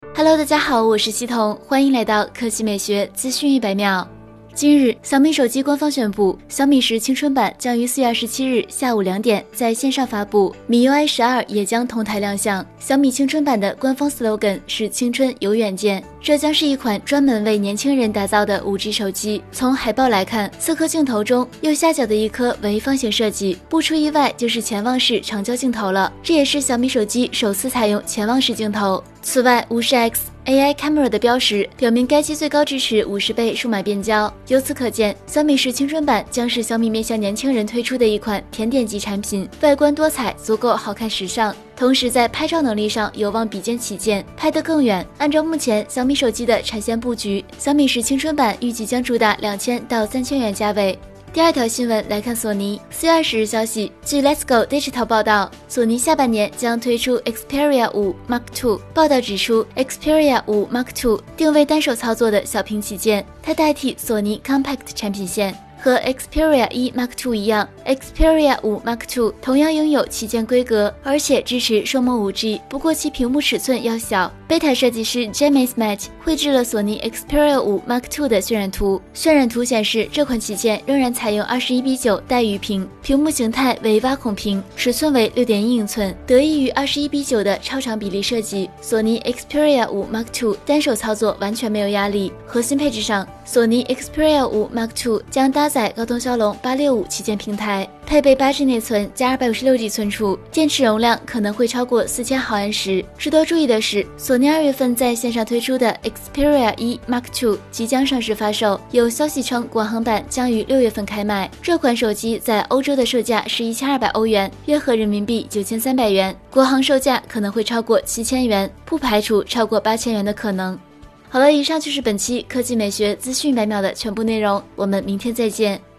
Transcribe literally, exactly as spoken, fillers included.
Hello， 大家好，我是西彤，欢迎来到科技美学资讯一百秒。今日，小米手机官方宣布，小米十青春版将于四月二十七日下午两点在线上发布，米 U I 十二也将同台亮相。小米青春版的官方 slogan 是青春有远见，这将是一款专门为年轻人打造的 五 G 手机。从海报来看，四颗镜头中右下角的一颗为方形设计，不出意外就是潜望式长焦镜头了，这也是小米手机首次采用潜望式镜头。此外 五十 X A I Camera 的标识表明该机最高支持五十倍数码变焦。由此可见，小米十青春版将是小米面向年轻人推出的一款甜点级产品，外观多彩，足够好看时尚，同时在拍照能力上有望比肩旗舰，拍得更远。按照目前小米手机的产线布局，小米十青春版预计将主打两千到三千元价位。第二条新闻来看索尼。四月二十日消息，据 Let's Go Digital 报道，索尼下半年将推出 Xperia 五 Mark 二。报道指出 ，Xperia 五 Mark 二定位单手操作的小屏旗舰，它代替索尼 Compact 产品线。和 Xperia 一 Mark 二一样 ，Xperia 五 Mark 二同样拥有旗舰规格，而且支持双模 五 G， 不过其屏幕尺寸要小。Beta 设计师 James Matt 绘制了索尼 Xperia 五 Mark 二的渲染图，渲染图显示这款旗舰仍然采用二十一比九带鱼屏，屏幕形态为挖孔屏，尺寸为 六点一英寸。得益于二十一比九的超长比例设计，索尼 Xperia 五 Mark 二单手操作完全没有压力。核心配置上，索尼 Xperia 五 Mark 二将搭载高通骁龙八六五旗舰平台，配备 八 G 内存加 二百五十六 G 存储，电池容量可能会超过四千毫安时。值得注意的是，索尼二月份在线上推出的 Xperia 一 Mark 二即将上市发售，有消息称国行版将于六月份开卖。这款手机在欧洲的售价是一千二百欧元，约合人民币九千三百元，国行售价可能会超过七千元，不排除超过八千元的可能。好了，以上就是本期科技美学资讯百秒的全部内容，我们明天再见。